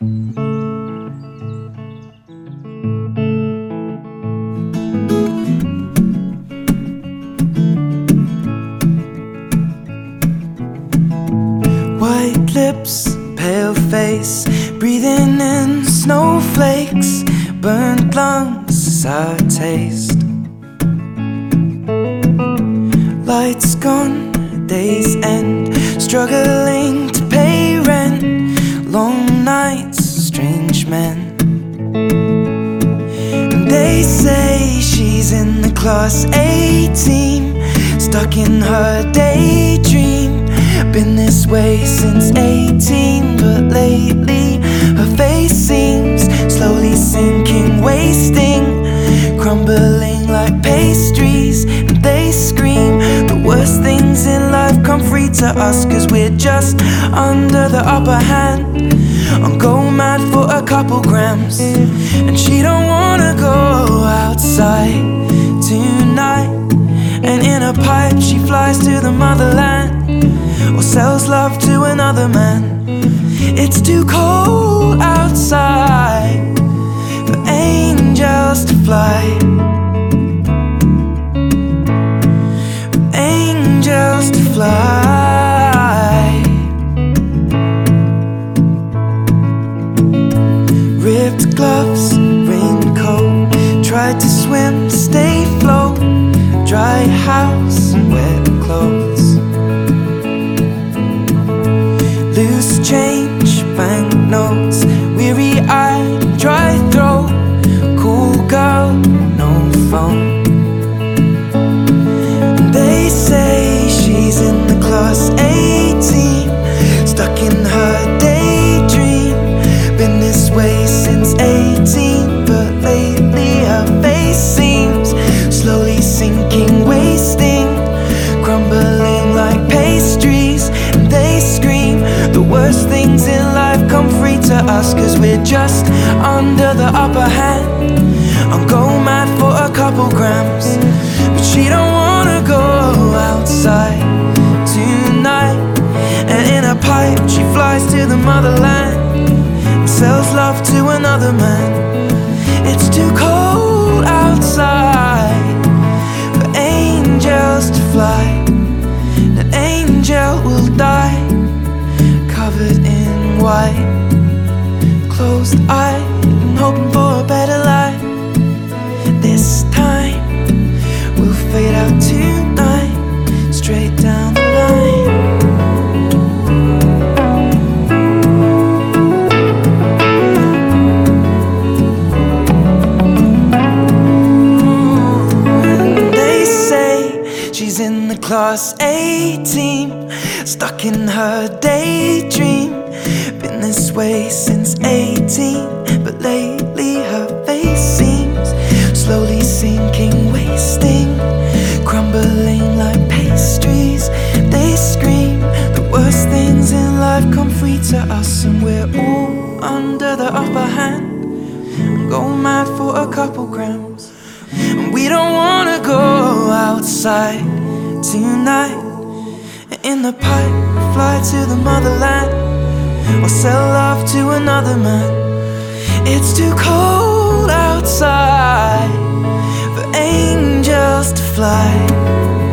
White lips, pale face, breathing in snowflakes, burnt lungs, sour taste. Lights gone, day's end, struggling to pay rent, long nights, strange men. And they say she's in the class A team, stuck in her daydream. Been this way since 18, but lately her face seems slowly sinking, wasting, crumbling like pastries. And they scream the worst things in life come free to us, 'cause we're just under the upper hand. I'm going mad for a couple grams, and she don't wanna go outside tonight. And in a pipe she flies to the motherland, or sells love to another man. It's too cold outside for angels to fly, for angels to fly. Ripped gloves, raincoat, tried to swim, stay afloat. Dry house and wet clothes, loose change, banknotes, weary-eyed, dry throat, cool girl, no phone. They say she's in the class A team, stuck in her daydream. Been this way since 18, but lately her face seems slowly sinking, wasting, crumbling like pastries. And they scream the worst things in life come free to us, 'cause we're just under the upper hand. I'm going mad for a couple grams, but she don't wanna go outside tonight. And in a pipe she flies to the motherland, and sells love to another man. It's too cold outside for angels to fly. An angel will die, covered in white, closed eyed and hoping for a better life. This time we'll fade out tonight, straight down the line. She's in the class A team, stuck in her daydream. Been this way since 18, but lately her face seems slowly sinking, wasting, crumbling like pastries. They scream the worst things in life come free to us, and we're all under the upper hand. I'm going mad for a couple grams, and we don't wanna go outside tonight. In the pipe, fly to the motherland, or sell love to another man. It's too cold outside for angels to fly.